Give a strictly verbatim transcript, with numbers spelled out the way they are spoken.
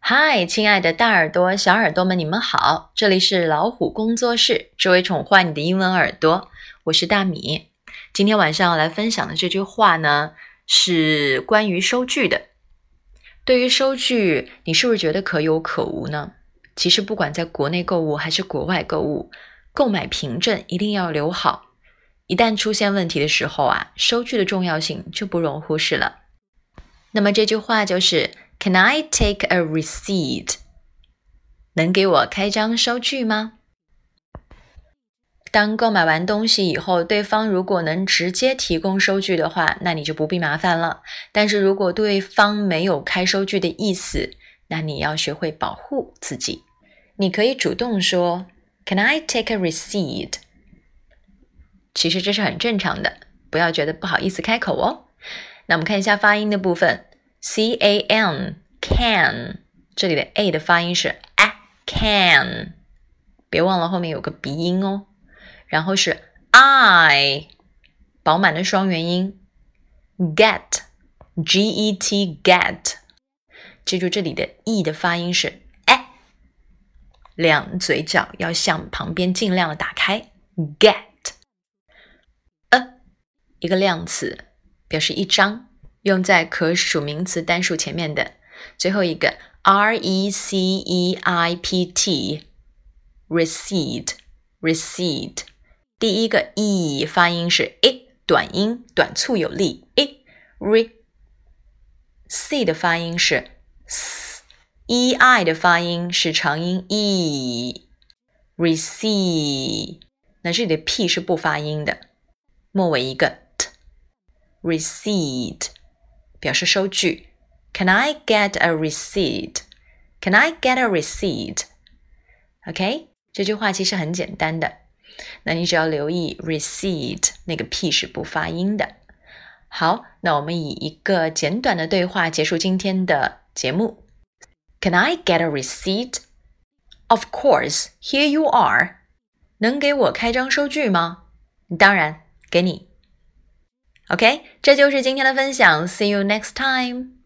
嗨，亲爱的大耳朵、小耳朵们，你们好！这里是老虎工作室，只为宠坏你的英文耳朵。我是大米。今天晚上要来分享的这句话呢，是关于收据的。对于收据，你是不是觉得可有可无呢？其实不管在国内购物还是国外购物，购买凭证一定要留好。一旦出现问题的时候啊，收据的重要性就不容忽视了。那么这句话就是Can I take a receipt? 能给我开张收据吗？当购买完东西以后，对方如果能直接提供收据的话，那你就不必麻烦了。但是如果对方没有开收据的意思，那你要学会保护自己。你可以主动说 Can I take a receipt? 其实这是很正常的，不要觉得不好意思开口哦。那我们看一下发音的部分 C A N Can 这里的 A 的发音是 A Can 别忘了后面有个鼻音哦。然后是 I 饱满的双元音 Get G E T Get 记住这里的 E 的发音是 A 两嘴角要向旁边尽量的打开 Get A 一个量词表示一张用在可数名词单数前面的最后一个 R E C E I P T Receipt Receipt 第一个 E 发音是 I 短音短促有力 I Re C 的发音是 S E I 的发音是长音 E Receipt 那这里的 P 是不发音的末尾一个 T Receipt 表示收据 Can I get a receipt? Can I get a receipt? OK 这句话其实很简单的那你只要留意 receipt 那个 P 是不发音的好那我们以一个简短的对话结束今天的节目 Can I get a receipt? Of course, here you are 能给我开张收据吗？当然给你OK 这就是今天的分享 See you next time